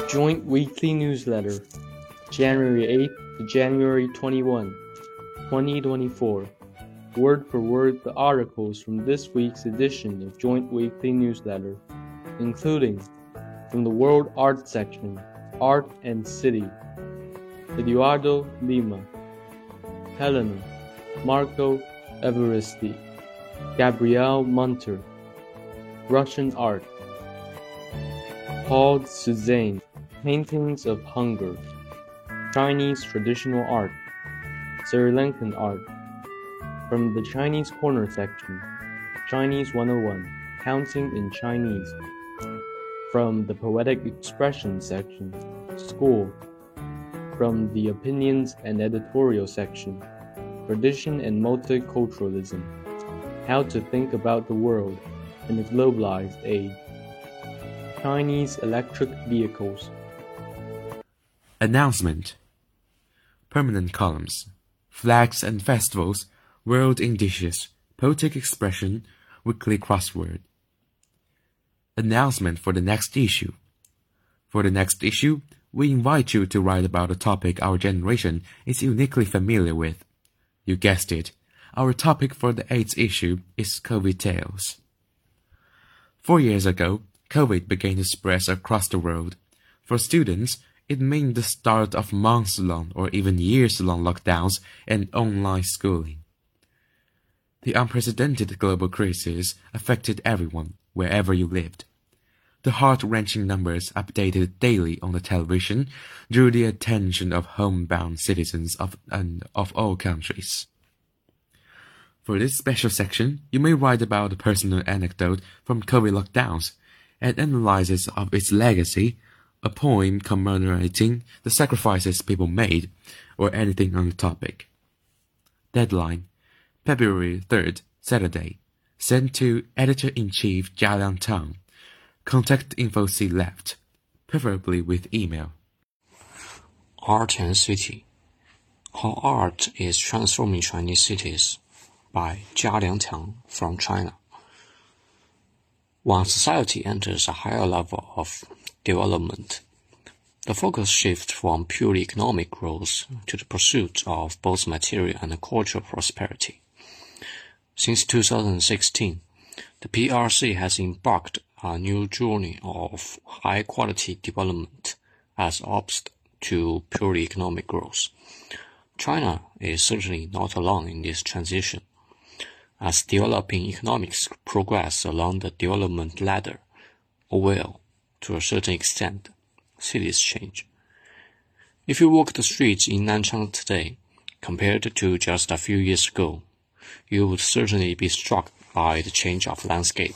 Joint Weekly Newsletter, January 8th to January 21, 2024. Word for word the articles from this week's edition of Joint Weekly Newsletter, including from the World Art section, Art and City, Eduardo Lima, Helena, Marco Evaristi, Gabrielle Munter, Russian Art, Paul Suzanne, Paintings of Hunger, Chinese Traditional Art, Sri Lankan Art. From the Chinese Corner section, Chinese 101, Counting in Chinese. From the Poetic Expression section, School. From the Opinions and Editorial section, Tradition and Multiculturalism, How to Think About the World in a Globalized Age, Chinese Electric Vehicles. Announcement. Permanent columns, flags and festivals, world in dishes, poetic expression, weekly crossword. Announcement for the next issue. For the next issue, we invite you to write about a topic our generation is uniquely familiar with. You guessed it, our topic for the 8th issue is COVID tales. 4 years ago, COVID began to spread across the world. For students, it meant the start of months-long or even years-long lockdowns and online schooling. The unprecedented global crisis affected everyone, wherever you lived. The heart-wrenching numbers updated daily on the television drew the attention of homebound citizens of all countries. For this special section, you may write about a personal anecdote from COVID lockdowns, an analysis of its legacy, a poem commemorating the sacrifices people made, or anything on the topic. Deadline, February 3rd, Saturday. Sent to Editor-in-Chief Jia Liangtang. Contact info see left, preferably with email. Art and City. How Art is Transforming Chinese Cities by Jia Liangtang from China. When society enters a higher level of development, the focus shifts from purely economic growth to the pursuit of both material and cultural prosperity. Since 2016, the PRC has embarked on a new journey of high-quality development as opposed to purely economic growth. China is certainly not alone in this transition. As developing economics progress along the development ladder, well, to a certain extent, cities change. If you walk the streets in Nanchang today, compared to just a few years ago, you would certainly be struck by the change of landscape.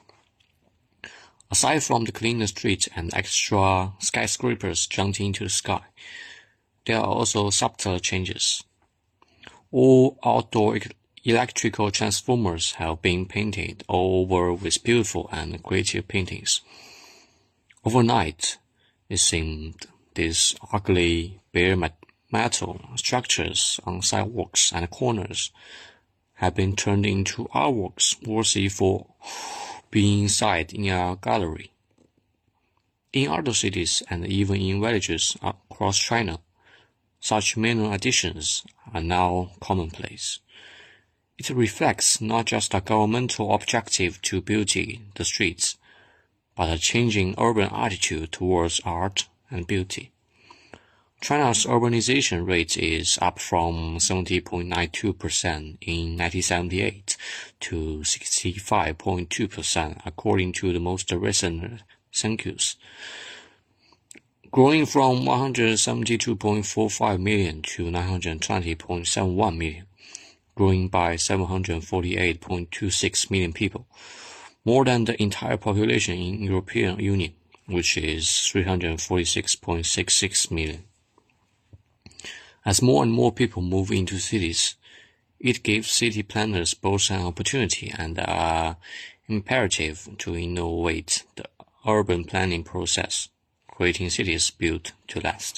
Aside from the cleaner streets and extra skyscrapers jumping into the sky, there are also subtle changes. All outdoor electrical transformers have been painted all over with beautiful and creative paintings. Overnight, it seemed these ugly bare metal structures on sidewalks and corners have been turned into artworks worthy for being inside in a gallery. In other cities and even in villages across China, such minor additions are now commonplace. It reflects not just a governmental objective to beauty the streets, but a changing urban attitude towards art and beauty. China's urbanization rate is up from 70.92% in 1978 to 65.2% according to the most recent census, growing from 172.45 million to 920.71 million. Growing by 748.26 million people, more than the entire population in European Union, which is 346.66 million. As more and more people move into cities, it gives city planners both an opportunity and an imperative to innovate the urban planning process, creating cities built to last.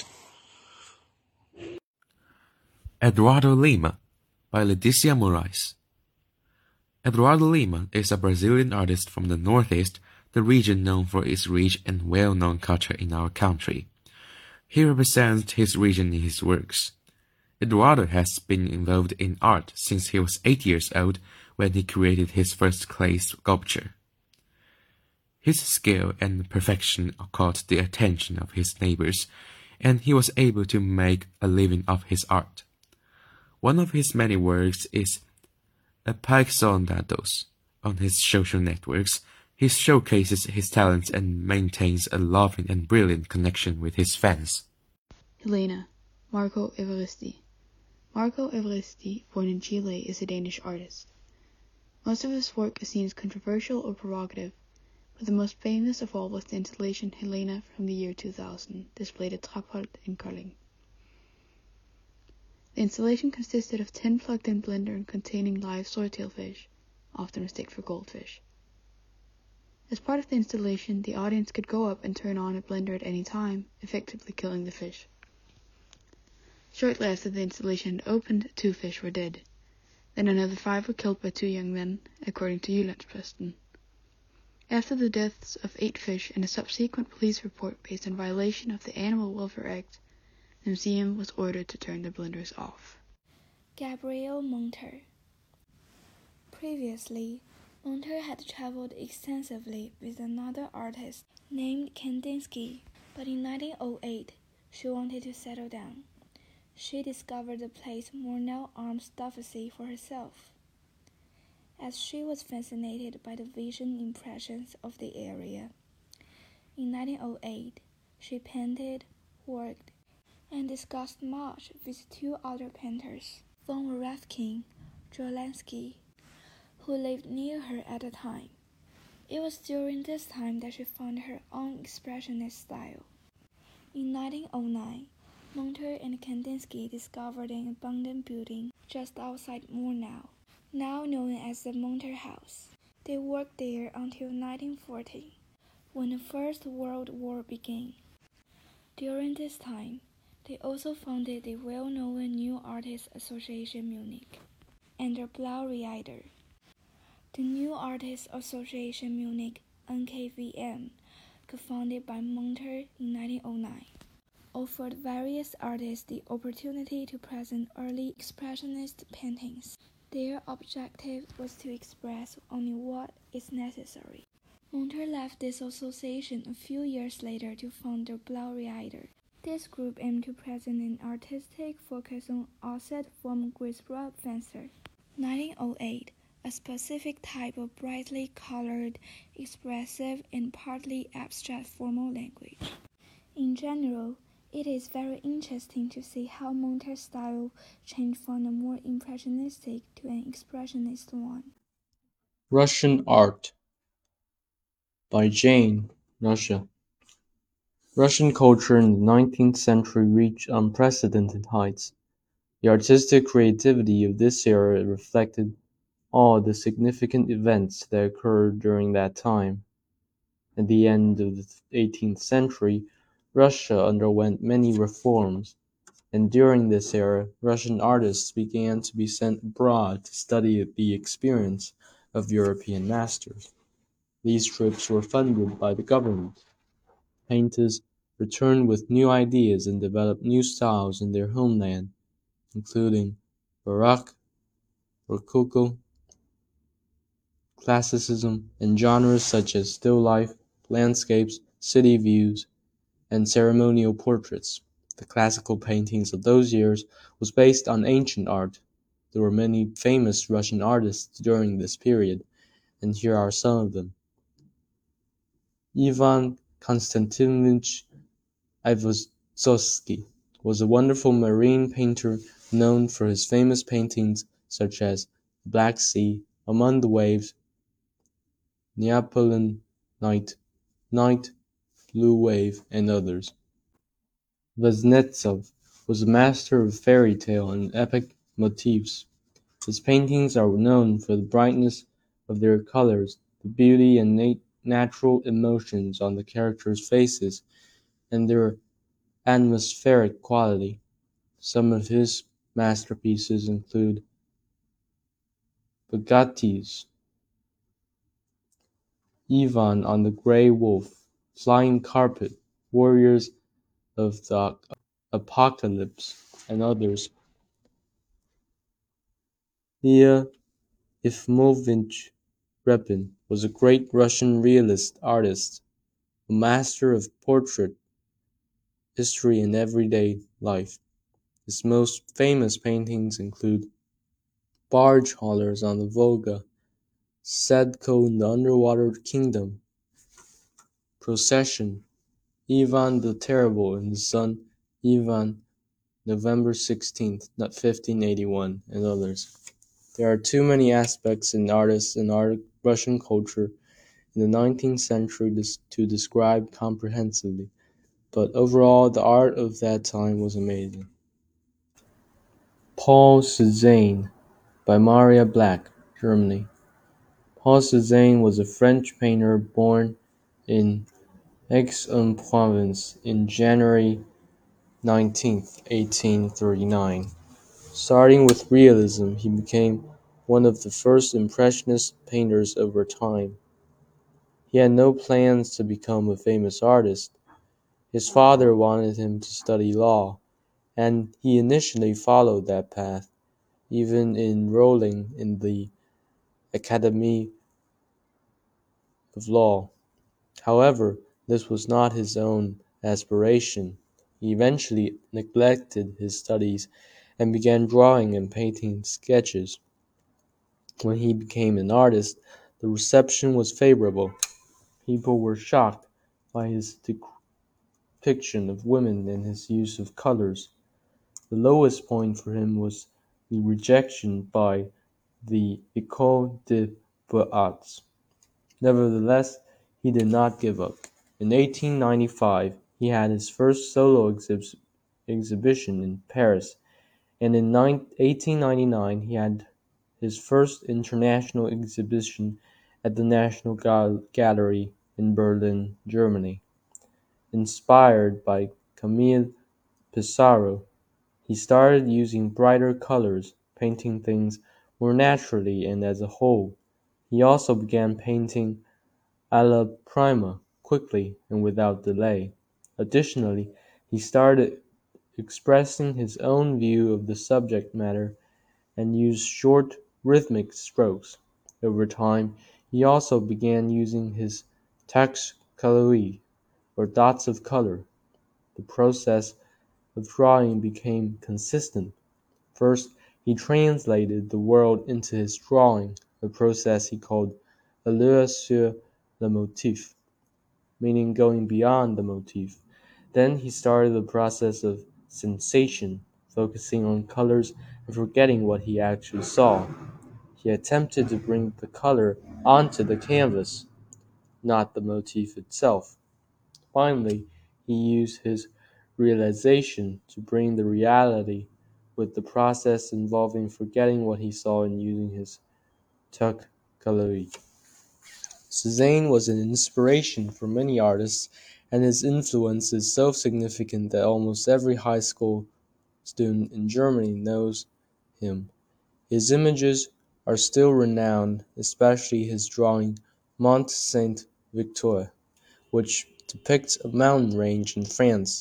Eduardo Lima by Leticia Moraes. Eduardo Lima is a Brazilian artist from the Northeast the region known for its rich and well-known culture in our country. He represents his region in his works. Eduardo has been involved in art since he was 8 years old when he created his first clay sculpture. His skill and perfection caught the attention of his neighbors, and he was able to make a living of his art. One of his many works is Apaixonados. On his social networks, he showcases his talents and maintains a loving and brilliant connection with his fans. Helena, Marco Evaristi. Marco Evaristi, born in Chile, is a Danish artist. Most of his work is seen as controversial or provocative, but the most famous of all was the installation Helena from the year 2000, displayed at Trapholt in Kolding. The installation consisted of 10 plugged-in blender containing live swordtail fish, often mistaken for goldfish. As part of the installation, the audience could go up and turn on a blender at any time, effectively killing the fish. Shortly after the installation had opened, 2 fish were dead. Then another 5 were killed by 2 young men, according to Jyllands-Posten. After the deaths of 8 fish and a subsequent police report based on violation of the Animal Welfare Act, the museum was ordered to turn the blenders off. Gabriel Monter. Previously, Monter had traveled extensively with another artist named Kandinsky, but in 1908, she wanted to settle down. She discovered the place Murnau Arms Stuffacy for herself. As she was fascinated by the vision impressions of the area. In 1908, she painted, worked, and discussed much with 2 other painters, von Rafkin, Jolansky, who lived near her at the time. It was during this time that she found her own expressionist style. In 1909, Monter and Kandinsky discovered an abandoned building just outside Murnau, now known as the Monter House. They worked there until 1940, when the First World War began. During this time, they also founded the well-known New Artists Association Munich and the Blau-Reiter. The New Artists Association Munich, NKVM, co-founded by Monter in 1909, offered various artists the opportunity to present early expressionist paintings. Their objective was to express only what is necessary. Monter left this association a few years later to found the Blau-Reiter. This group aimed to present an artistic focus on offset from Griesbach Fencer. 1908, a specific type of brightly colored, expressive, and partly abstract formal language. In general, it is very interesting to see how Monter's style changed from a more impressionistic to an expressionist one. Russian Art by Jane, Russia. Russian culture in the 19th century reached unprecedented heights. The artistic creativity of this era reflected all the significant events that occurred during that time. At the end of the 18th century, Russia underwent many reforms, and during this era, Russian artists began to be sent abroad to study the experience of European masters. These trips were funded by the government. Painters returned with new ideas and developed new styles in their homeland, including Baroque, Rococo, Classicism, and genres such as still life, landscapes, city views, and ceremonial portraits. The classical paintings of those years was based on ancient art. There were many famous Russian artists during this period, and here are some of them. Ivan Konstantinovich Aivazovsky was a wonderful marine painter known for his famous paintings such as The Black Sea, Among the Waves, Neapolitan Night, Blue Wave, and others. Kuznetsov was a master of fairy tale and epic motifs. His paintings are known for the brightness of their colors, the beauty and natural emotions on the characters' faces, and their atmospheric quality. Some of his masterpieces include Bogatyvs, Ivan on the Grey Wolf, Flying Carpet, Warriors of the Apocalypse, and others. Leah Ifimovich Repin was a great Russian realist artist, a master of portrait, history, and everyday life. His most famous paintings include Barge Haulers on the Volga, Sadko in the Underwater Kingdom, Procession, Ivan the Terrible and his son Ivan, November 16th, 1581, and others. There are too many aspects in artists and Russian culture in the 19th century to describe comprehensively, but overall the art of that time was amazing. Paul Cézanne by Maria Black, Germany. Paul Cézanne was a French painter born in Aix-en-Provence in January 19th, 1839. Starting with realism, he became one of the first impressionist painters of our time. He had no plans to become a famous artist. His father wanted him to study law, and he initially followed that path, even enrolling in the Academy of Law. However, this was not his own aspiration. He eventually neglected his studies and began drawing and painting sketches. When he became an artist, the reception was favorable. People were shocked by his depiction of women and his use of colors. The lowest point for him was the rejection by the École des Beaux-Arts. Nevertheless, he did not give up. In 1895, he had his first solo exhibition in Paris, and in 1899 he had his first international exhibition at the National Gallery in Berlin, Germany. Inspired by Camille Pissarro, he started using brighter colors, painting things more naturally and as a whole. He also began painting alla prima, quickly and without delay. Additionally, he started expressing his own view of the subject matter and used short, rhythmic strokes. Over time, he also began using his taches coloris, or dots of color. The process of drawing became consistent. First, he translated the world into his drawing, a process he called allure sur le motif, meaning going beyond the motif. Then he started the process of sensation, focusing on colors and forgetting what he actually saw. He attempted to bring the color onto the canvas, not the motif itself. Finally, he used his realization to bring the reality, with the process involving forgetting what he saw and using his taches coloris. Cézanne was an inspiration for many artists, and his influence is so significant that almost every high school student in Germany knows him. His images are still renowned, especially his drawing Mont Saint-Victor, which depicts a mountain range in France.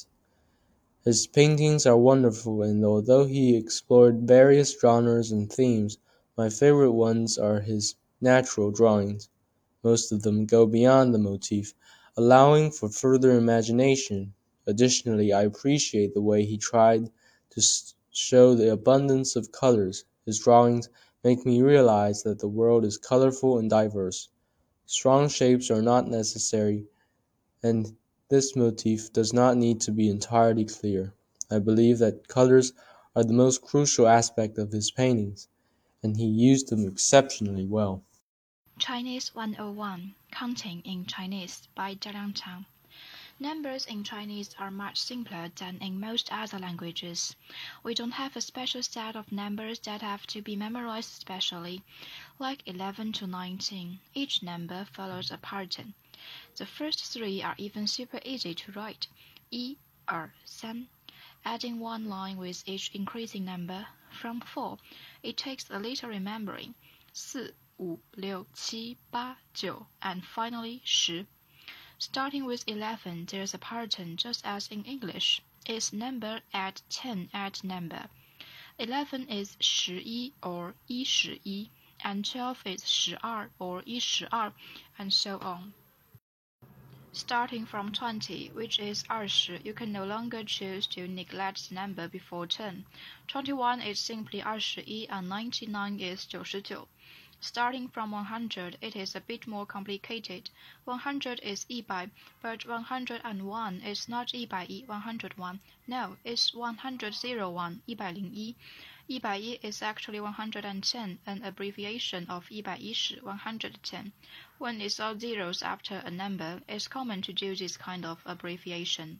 His paintings are wonderful, and although he explored various genres and themes, my favorite ones are his natural drawings. Most of them go beyond the motif, allowing for further imagination. Additionally, I appreciate the way he tried to show the abundance of colors. His drawings make me realize that the world is colorful and diverse. Strong shapes are not necessary, and this motif does not need to be entirely clear. I believe that colors are the most crucial aspect of his paintings, and he used them exceptionally well. Chinese 101 Counting in Chinese by Zhang Chang. Numbers in Chinese are much simpler than in most other languages. We don't have a special set of numbers that have to be memorized specially, like 11 to 19. Each number follows a pattern. The first three are even super easy to write. 1, 2, 3. Adding one line with each increasing number. From 4, it takes a little remembering. 4, 5、6、7、8、9, and finally 10. Starting with 11, there's a pattern just as in English. It's number at 10 at number. 11 is 11 or 11, and 12 is 12 or 12, and so on. Starting from 20, which is 20, you can no longer choose to neglect the number before 10. 21 is simply 21 and 99 is 99. Starting from 100, it is a bit more complicated. 100 is 100, but 101 is not 101, 101. No, it's 101, 101. 101 is actually 110, an abbreviation of 110, 110. When it's all zeros after a number, it's common to do this kind of abbreviation.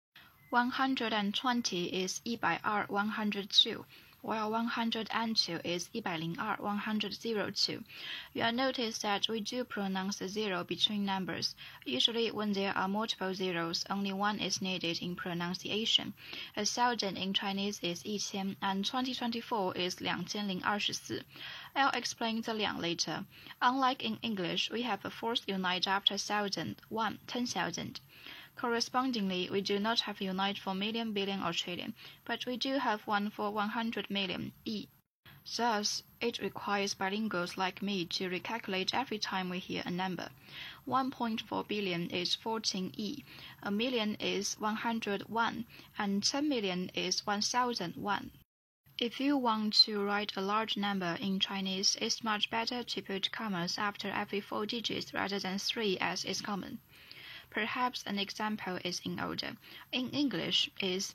120 is 102, 102, while 102 is 102, 102. You'll notice that we do pronounce the zero between numbers. Usually when there are multiple zeros, only one is needed in pronunciation. 1,000 in Chinese is 1,000, and 2024 is 2024. I'll explain the 两 later. Unlike in English, we have a fourth unite after 1,000, 1, 10,000. Correspondingly, we do not have unite for million, billion, or trillion, but we do have one for 100 million, E. Thus, it requires bilinguals like me to recalculate every time we hear a number. 1.4 billion is 14 E, a million is 101, and 10 million is 1,001. If you want to write a large number in Chinese, it's much better to put commas after every 4 digits rather than 3 as is common. Perhaps an example is in order. In English is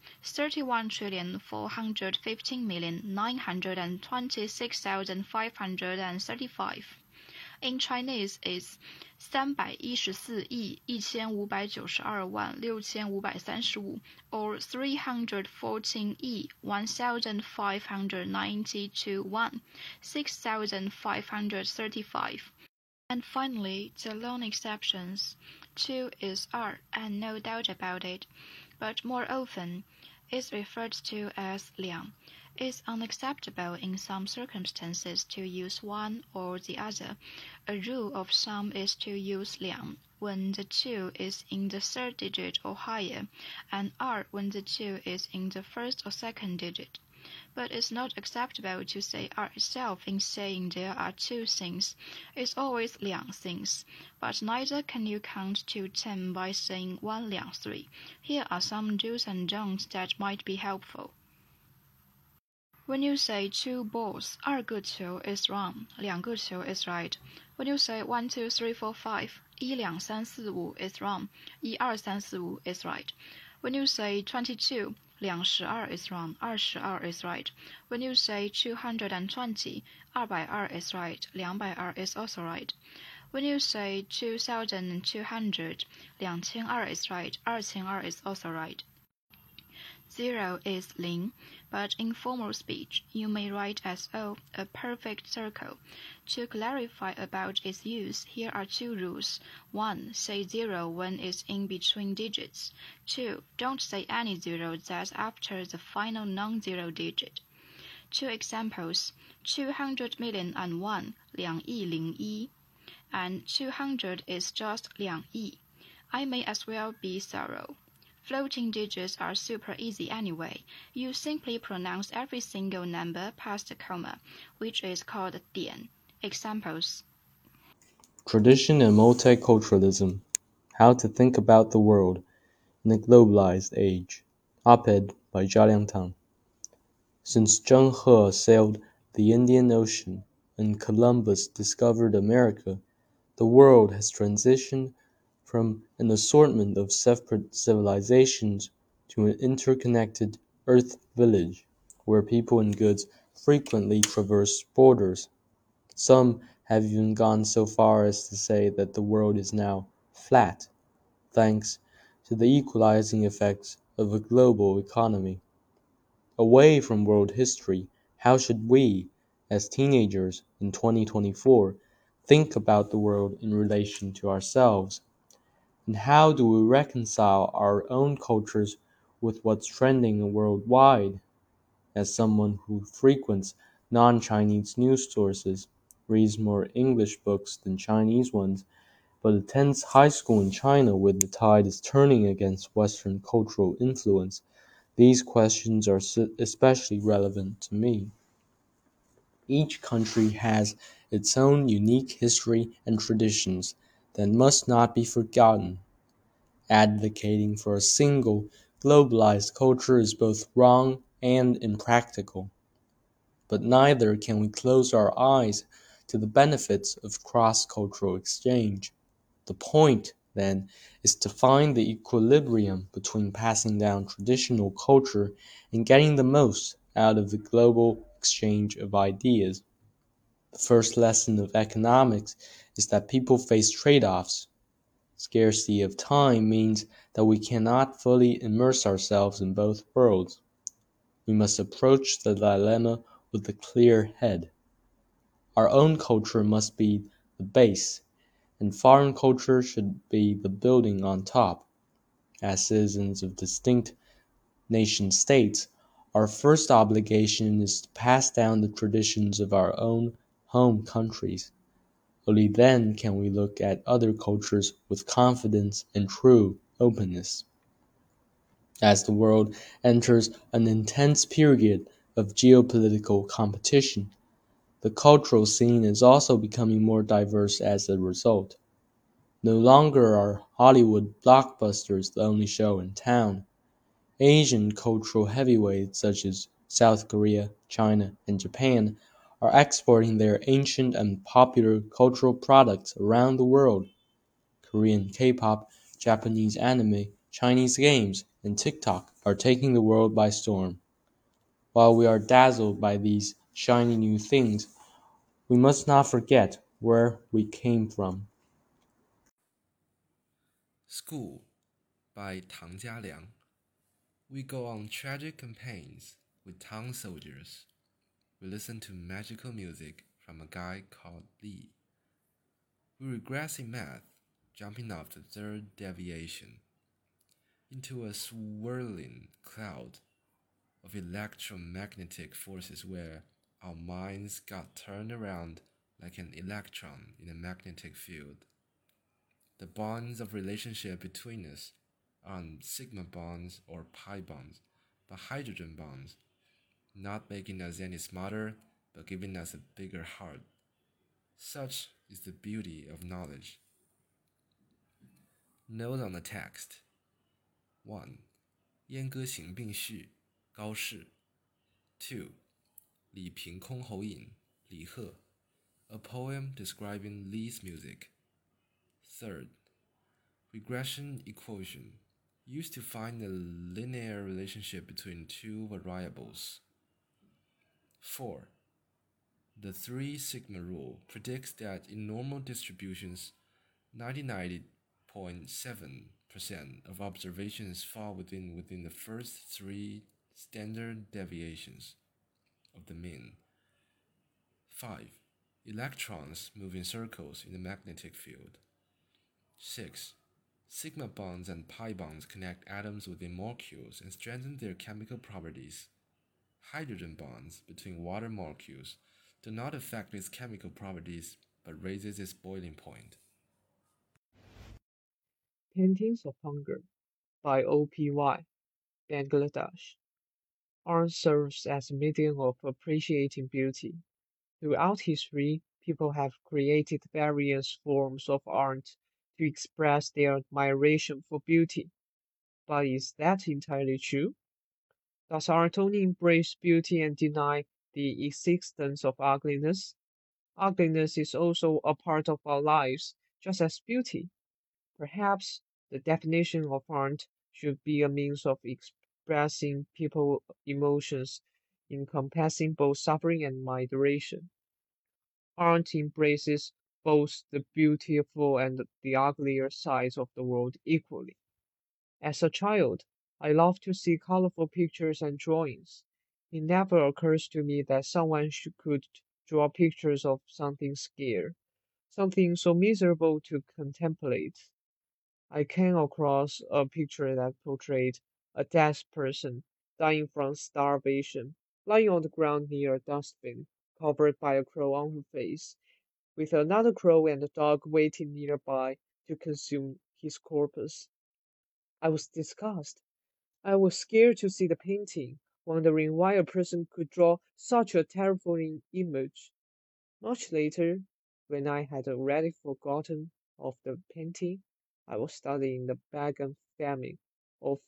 31,415,926,535. In Chinese is 314,192,635, or 314,1,592, 6,535. And finally, the lone exceptions. 2 is 2, and no doubt about it, but more often is referred to as 2. It's unacceptable in some circumstances to use one or the other. A rule of thumb is to use 2 when the 2 is in the third digit or higher, and 2 when the 2 is in the first or second digit. But it's not acceptable to say 2 itself in saying there are 2 things. It's always 2 things. But neither can you count to 10 by saying 1, 2, 3. Here are some do's and don'ts that might be helpful. When you say 2 balls, 2个球 is wrong, 2个球 is right. When you say 1, 2, 3, 4, 5, 1, 2, 3, 4, 5 is wrong, 1, 2, 3, 4, 5 is right. When you say 22, 22 is wrong, 22 is right. When you say 220, 220 is right, 220 is also right. When you say 2,200, 2,200 is right, 2,200 is also right. 0 is 0, but in formal speech, you may write as O, a perfect circle. To clarify about its use, here are 2 rules. 1. Say 0 when it's in between digits. 2. Don't say any 0 that's after the final non-zero digit. 2 examples. 200,000,001, 2亿01, and 200 is just 2亿. I may as well be thorough. Floating digits are super easy anyway. You simply pronounce every single number past the comma, which is called 点. Examples. Tradition and Multiculturalism: How to Think About the World in a Globalized Age. Op-ed by Zhao Liangtang. Since Zheng He sailed the Indian Ocean and Columbus discovered America, the world has transitioned from an assortment of separate civilizations to an interconnected Earth village, where people and goods frequently traverse borders. Some have even gone so far as to say that the world is now flat, thanks to the equalizing effects of a global economy. Away from world history, how should we, as teenagers in 2024, think about the world in relation to ourselves? And how do we reconcile our own cultures with what's trending worldwide? As someone who frequents non-Chinese news sources, reads more English books than Chinese ones, but attends high school in China where the tide is turning against Western cultural influence, these questions are especially relevant to me. Each country has its own unique history and traditions that must not be forgotten. Advocating for a single, globalized culture is both wrong and impractical. But neither can we close our eyes to the benefits of cross-cultural exchange. The point, then, is to find the equilibrium between passing down traditional culture and getting the most out of the global exchange of ideas. The first lesson of economics is that people face trade-offs. Scarcity of time means that we cannot fully immerse ourselves in both worlds. We must approach the dilemma with a clear head. Our own culture must be the base, and foreign culture should be the building on top. As citizens of distinct nation-states, our first obligation is to pass down the traditions of our own home countries. Only then can we look at other cultures with confidence and true openness. As the world enters an intense period of geopolitical competition, the cultural scene is also becoming more diverse as a result. No longer are Hollywood blockbusters the only show in town. Asian cultural heavyweights such as South Korea, China, and Japan are exporting their ancient and popular cultural products around the world. Korean K-pop, Japanese anime, Chinese games, and TikTok are taking the world by storm. While we are dazzled by these shiny new things, we must not forget where we came from. School by Tang Jialiang. We go on tragic campaigns with Tang soldiers. We listen to magical music from a guy called Li. We regress in math, jumping off the third deviation into a swirling cloud of electromagnetic forces where our minds got turned around like an electron in a magnetic field. The bonds of relationship between us aren't sigma bonds or pi bonds, but hydrogen bonds, not making us any smarter, but giving us a bigger heart. Such is the beauty of knowledge. Note on the text. 1. 阉割型病序高适 2. 李凭箜篌引李贺 A poem describing Li's music. 3rd. Regression equation used to find a linear relationship between two variables. 4. The 3 sigma rule predicts that in normal distributions, 99.7% of observations fall within the first 3 standard deviations of the mean. 5. Electrons move in circles in the magnetic field. 6. Sigma bonds and pi bonds connect atoms within molecules and strengthen their chemical properties. Hydrogen bonds between water molecules do not affect its chemical properties but raises its boiling point. Paintings of Hunger by OPY, Bangladesh. Art serves as a medium of appreciating beauty. Throughout history, people have created various forms of art to express their admiration for beauty. But is that entirely true? Does art only embrace beauty and deny the existence of ugliness? Ugliness is also a part of our lives, just as beauty. Perhaps the definition of art should be a means of expressing people's emotions, encompassing both suffering and moderation. Art embraces both the beautiful and the uglier sides of the world equally. As a child, I loved to see colorful pictures and drawings. It never occurs to me that someone could draw pictures of something scary, something so miserable to contemplate. I came across a picture that portrayed a dead person dying from starvation, lying on the ground near a dustbin, covered by a crow on her face. with another crow and a dog waiting nearby to consume his corpse. I was disgusted. I was scared to see the painting, wondering why a person could draw such a terrifying image. Much later, when I had already forgotten of the painting, I was studying the Bagan famine of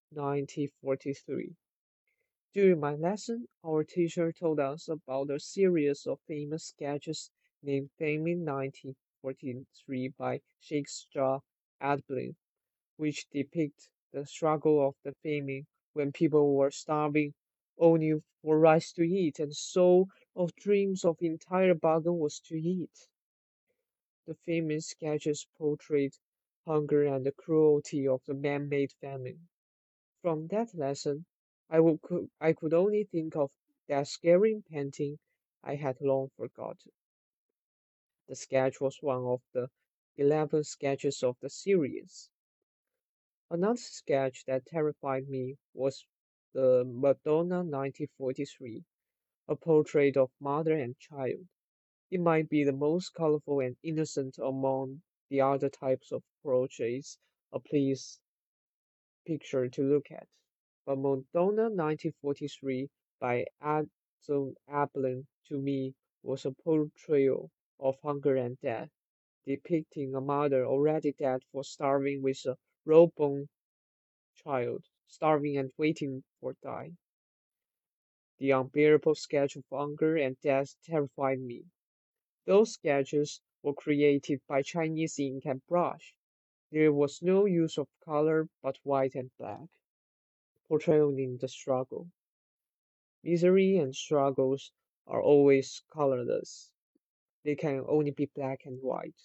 1943. During my lesson, our teacher told us about a series of famous sketches named Famine 1943 by Shakespeare Adlin, which depict the struggle of the famine when people were starving only for rice to eat and so of dreams of entire bargain was to eat. The famine sketches portrayed hunger and the cruelty of the man-made famine. From that lesson, I could only think of that scary painting I had long forgotten. The sketch was one of the 11 sketches of the series. Another sketch that terrified me was the Madonna 1943, a portrait of mother and child. It might be the most colorful and innocent among the other types of portraits a please picture to look at. But Madonna 1943 by Adam Ablin to me was a portrayal of hunger and death, depicting a mother already dead for starving with a raw-boned child, starving and waiting for die. The unbearable sketch of hunger and death terrified me. Those sketches were created by Chinese ink and brush. There was no use of color but white and black, portraying the struggle. Misery and struggles are always colorless. They can only be black and white.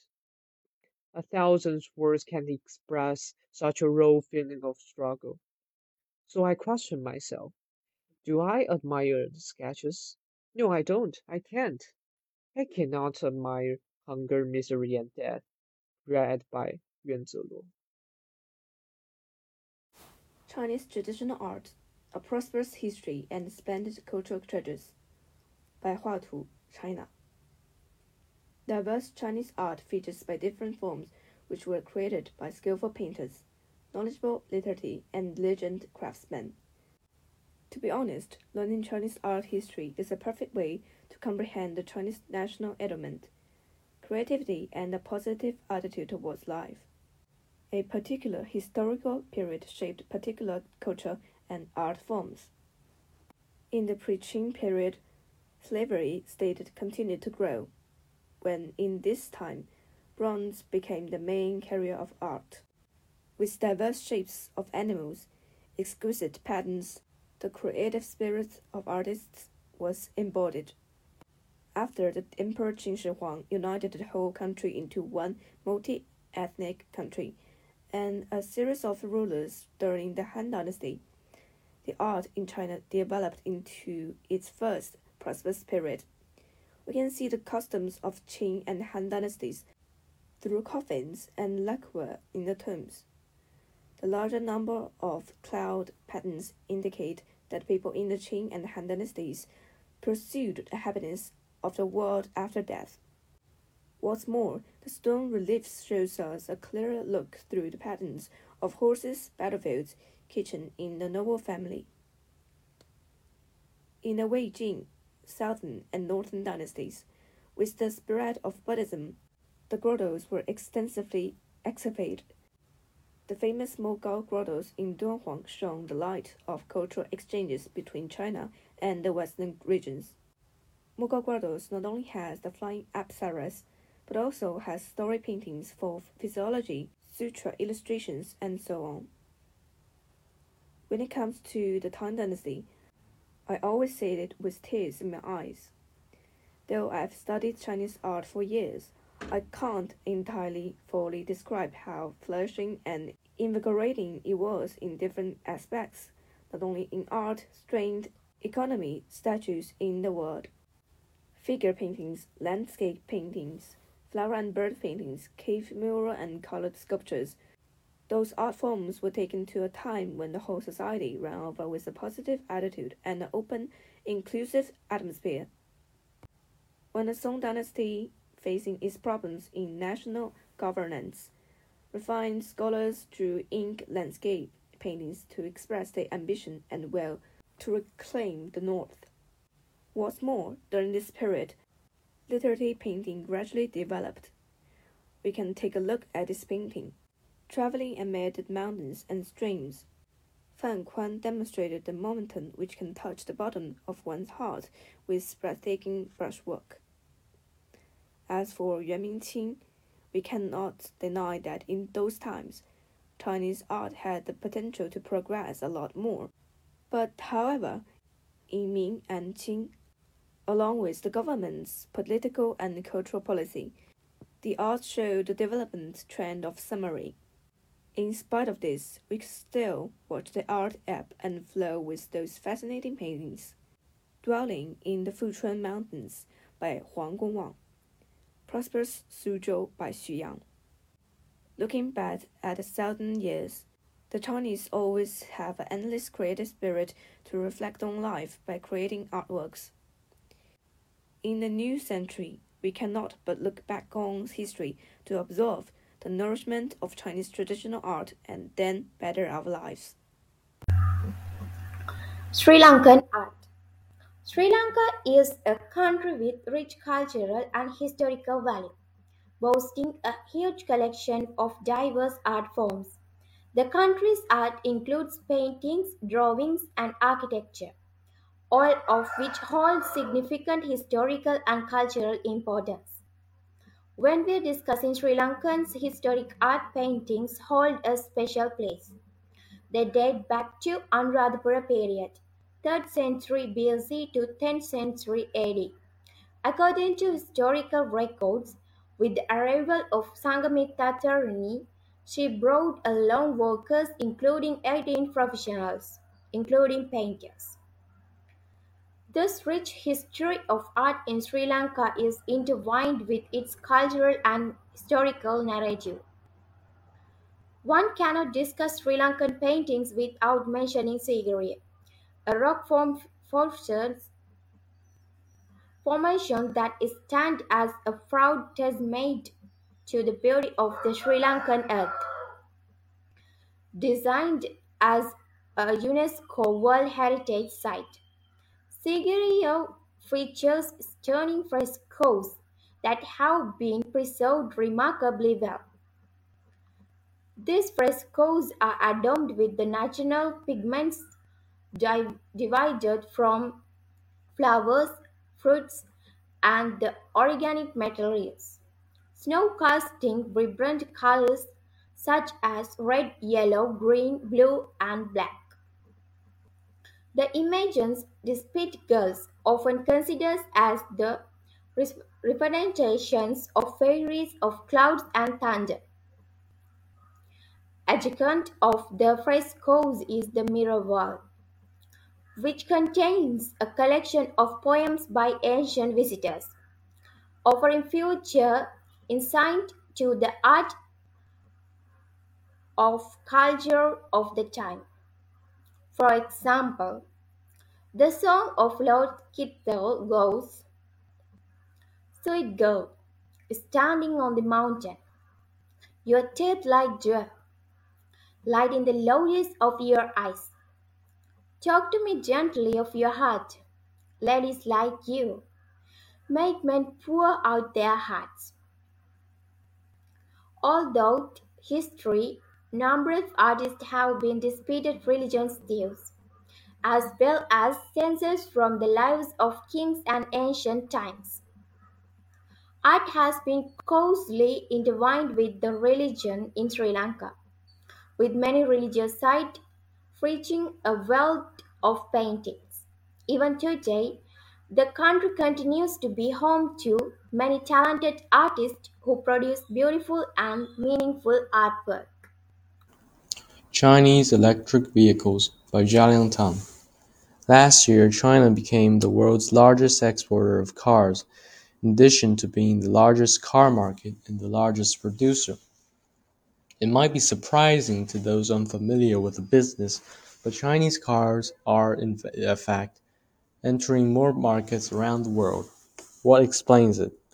1,000 words can't express such a raw feeling of struggle. So I question myself, do I admire the sketches? No, I don't. I can't. I cannot admire hunger, misery, and death, read by Yuan Ziluo. Chinese Traditional Art, A Prosperous History and Splendid Cultural Treasures by Hua Tu, China. Diverse Chinese art features by different forms which were created by skillful painters, knowledgeable literati, and diligent craftsmen. To be honest, learning Chinese art history is a perfect way to comprehend the Chinese national element, creativity, and a positive attitude towards life. A particular historical period shaped particular culture and art forms. In the pre-Qing period, slavery state continued to grow, when in this time, bronze became the main carrier of art. With diverse shapes of animals, exquisite patterns, the creative spirit of artists was embodied. After the Emperor Qin Shi Huang united the whole country into one multi-ethnic country, and a series of rulers during the Han Dynasty, the art in China developed into its first prosperous period. We can see the customs of Qing and Han dynasties through coffins and lacquer in the tombs. The larger number of cloud patterns indicate that people in the Qing and Han dynasties pursued the happiness of the world after death. What's more, the stone reliefs shows us a clearer look through the patterns of horses, battlefields, kitchen in the noble family. In the Wei Jing, southern and northern dynasties, with the spread of Buddhism, the grottos were extensively excavated. The famous Mogao grottos in Dunhuang shone the light of cultural exchanges between China and the western regions. Mogao grottos not only has the flying apsaras, but also has story paintings for physiology, sutra illustrations, and so on. When it comes to the Tang Dynasty, I always say it with tears in my eyes. Though I've studied Chinese art for years, I can't entirely fully describe how flourishing and invigorating it was in different aspects, not only in art, strength, economy, statues in the world. Figure paintings, landscape paintings, flower and bird paintings, cave mural and colored sculptures. Those art forms were taken to a time when the whole society ran over with a positive attitude and an open, inclusive atmosphere. When the Song Dynasty facing its problems in national governance. Refined scholars drew ink landscape paintings to express their ambition and will to reclaim the North. What's more, during this period, literary painting gradually developed. We can take a look at this painting. Traveling amid the mountains and streams, Fan Kuan demonstrated the momentum which can touch the bottom of one's heart with breathtaking brushwork. As for Yuan Mingqing, we cannot deny that in those times, Chinese art had the potential to progress a lot more. But however, in Ming and Qing, along with the government's political and cultural policy, the art showed the development trend of samurai. In spite of this, we still watch the art ebb and flow with those fascinating paintings. Dwelling in the Fuchuan Mountains by Huang Gongwang, Prosperous Suzhou by Xu Yang. Looking back at the 1,000 years, the Chinese always have an endless creative spirit to reflect on life by creating artworks. In the new century, we cannot but look back on history to observe the nourishment of Chinese traditional art and then better our lives. Sri Lankan art. Sri Lanka is a country with rich cultural and historical value, boasting a huge collection of diverse art forms. The country's art includes paintings, drawings, and architecture, all of which hold significant historical and cultural importance. When we are discussing Sri Lankan's historic art, paintings hold a special place. They date back to Anuradhapura period, 3rd century BC to 10th century AD. According to historical records, with the arrival of Sanghamitta Tharani, she brought along workers including 18 professionals, including painters. This rich history of art in Sri Lanka is intertwined with its cultural and historical narrative. One cannot discuss Sri Lankan paintings without mentioning Sigiriya, a rock formation that stands as a proud testament to the beauty of the Sri Lankan earth. Designed as a UNESCO World Heritage Site, Sigiriya features stunning frescoes that have been preserved remarkably well. These frescoes are adorned with the natural pigments divided from flowers, fruits, and the organic materials. Snow casting vibrant colors such as red, yellow, green, blue, and black. The images depict girls, often considered as the representations of fairies of clouds and thunder. Adjacent of the frescoes is the mirror wall, which contains a collection of poems by ancient visitors, offering future insight to the art of culture of the time. For example, the song of Lord Kittel goes, "Sweet girl, standing on the mountain, your teeth like dew, light in the lotus of your eyes. Talk to me gently of your heart. Ladies like you make men pour out their hearts." Although history, numerous artists have been depicted religious themes, as well as scenes from the lives of kings and ancient times. Art has been closely intertwined with the religion in Sri Lanka, with many religious sites featuring a wealth of paintings. Even today, the country continues to be home to many talented artists who produce beautiful and meaningful artwork. Chinese Electric Vehicles by Jialiang Tang. Last year, China became the world's largest exporter of cars, in addition to being the largest car market and the largest producer. It might be surprising to those unfamiliar with the business, but Chinese cars are, in fact, entering more markets around the world. What explains it?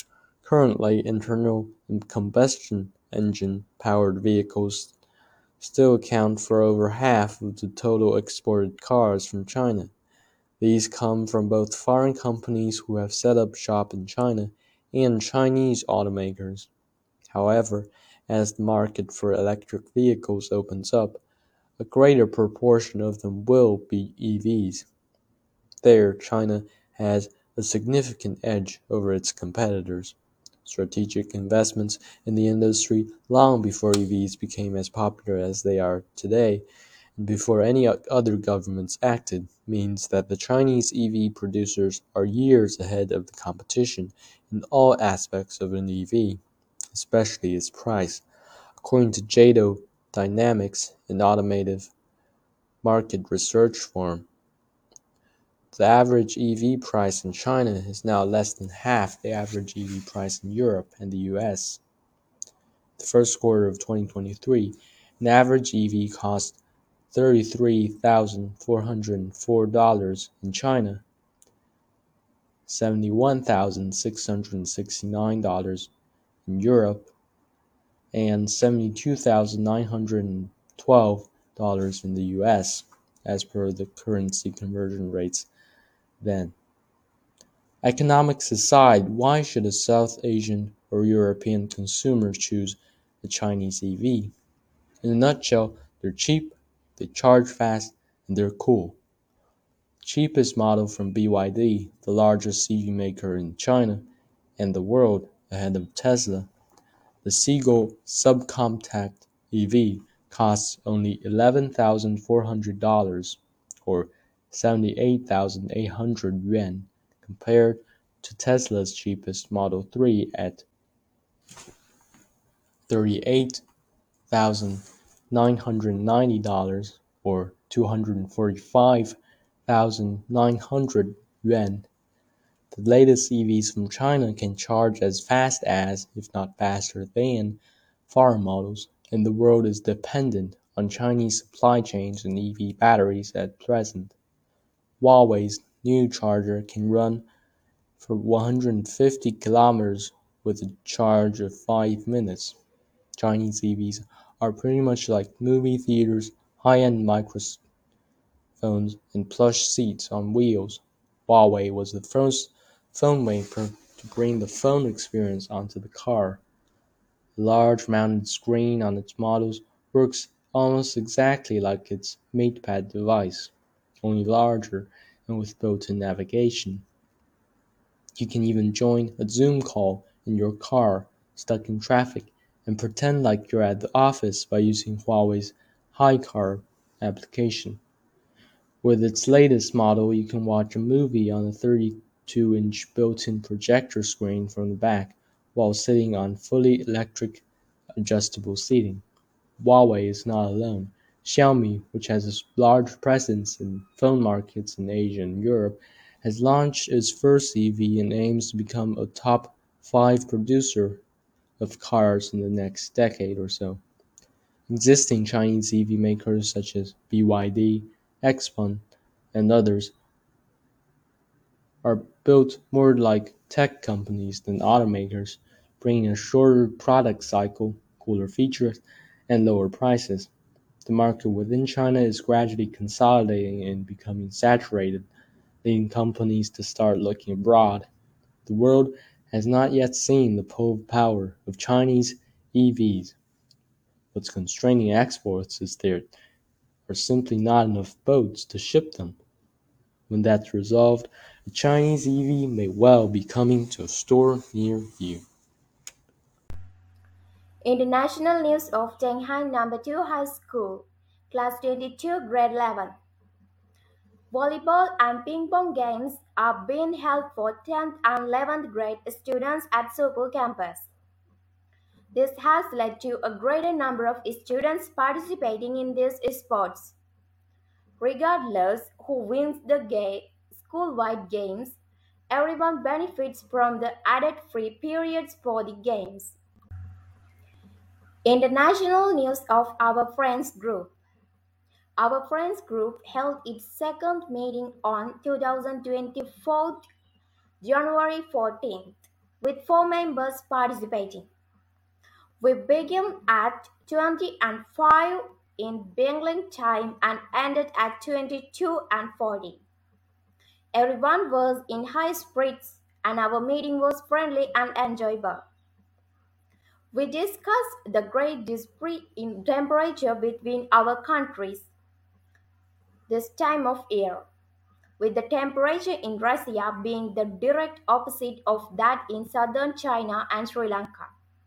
Currently, internal combustion engine powered vehicles still account for over half of the total exported cars from China. These come from both foreign companies who have set up shop in China and Chinese automakers. However, as the market for electric vehicles opens up, a greater proportion of them will be EVs. There, China has a significant edge over its competitors. Strategic investments in the industry long before EVs became as popular as they are today, and before any other governments acted, means that the Chinese EV producers are years ahead of the competition in all aspects of an EV, especially its price. According to Jado Dynamics, an automotive market research firm, the average EV price in China is now less than half the average EV price in Europe and the US. The first quarter of 2023, an average EV cost $33,404 in China, $71,669 in Europe, and $72,912 in the US, as per the currency conversion rates then. Economics aside, why should a South Asian or European consumer choose the Chinese EV? In a nutshell, they're cheap, they charge fast, and they're cool. The cheapest model from BYD, the largest EV maker in China and the world ahead of Tesla, the Seagull subcompact EV costs only $11,400 or 78,800 yuan compared to Tesla's cheapest Model 3 at $38,990 or 245,900 yuan. The latest EVs from China can charge as fast as, if not faster than, foreign models, and the world is dependent on Chinese supply chains and EV batteries at present. Huawei's new charger can run for 150 kilometers with a charge of 5 minutes. Chinese EVs are pretty much like movie theaters, high-end microphones, and plush seats on wheels. Huawei was the first phone maker to bring the phone experience onto the car. The large mounted screen on its models works almost exactly like its MatePad device, only larger and with built-in navigation. You can even join a Zoom call in your car stuck in traffic and pretend like you're at the office by using Huawei's HiCar application. With its latest model, you can watch a movie on a 32-inch built-in projector screen from the back while sitting on fully electric adjustable seating. Huawei is not alone. Xiaomi, which has a large presence in phone markets in Asia and Europe, has launched its first EV and aims to become a top 5 producer of cars in the next decade or so. Existing Chinese EV makers such as BYD, Xpeng, and others are built more like tech companies than automakers, bringing a shorter product cycle, cooler features, and lower prices. The market within China is gradually consolidating and becoming saturated, leading companies to start looking abroad. The world has not yet seen the power of Chinese EVs. What's constraining exports is there are simply not enough boats to ship them. When that's resolved, a Chinese EV may well be coming to a store near you. International news of Shanghai No. 2 High School, Class 22, Grade 11. Volleyball and ping pong games are being held for 10th and 11th grade students at Sokol campus. This has led to a greater number of students participating in these sports. Regardless who wins the school-wide games, everyone benefits from the added free periods for the games. International news of Our Friends Group. Our Friends Group held its second meeting on 2024 January 14th. with 4 members participating. We began at 20 and 5 in Beijing time and ended at 22 and 40. Everyone was in high spirits and our meeting was friendly and enjoyable. We discussed the great disparity in temperature between our countries this time of year, with the temperature in Russia being the direct opposite of that in southern China and Sri Lanka,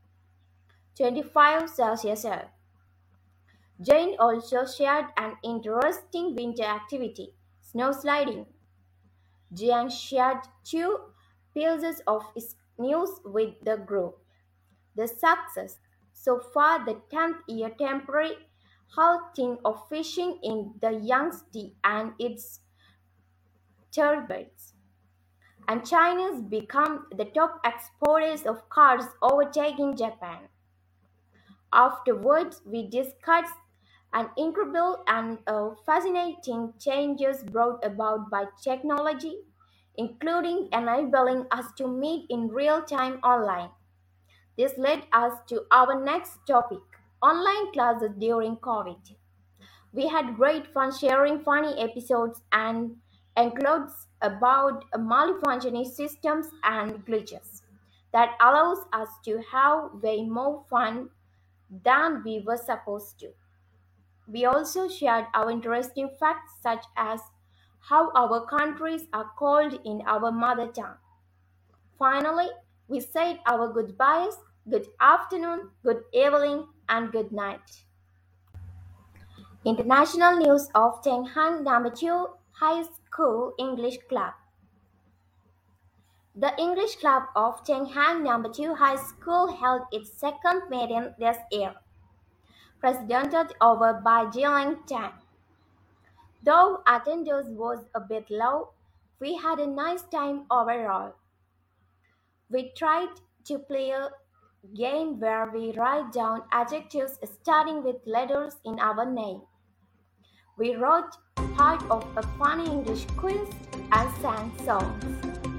25 Celsius. Jane also shared an interesting winter activity, snow sliding. Jiang shared 2 pieces of news with the group. The success, so far the 10th year temporary halting of fishing in the Yangtze and its tributaries. And China's become the top exporters of cars, overtaking Japan. Afterwards, we discussed an incredible and fascinating changes brought about by technology, including enabling us to meet in real time online. This led us to our next topic, online classes during COVID. We had great fun sharing funny episodes and anecdotes about malfunctioning systems and glitches that allows us to have way more fun than we were supposed to. We also shared our interesting facts such as how our countries are called in our mother tongue. Finally, we said our goodbyes, good afternoon, good evening, and good night. International news of Tenghang No. 2 High School English Club. The English Club of Tenghang No. 2 High School held its second meeting this year, presided over by Jilin Tang. Though attendance was a bit low, we had a nice time overall. We tried to play a game where we write down adjectives starting with letters in our name. We wrote part of a funny English quiz and sang songs.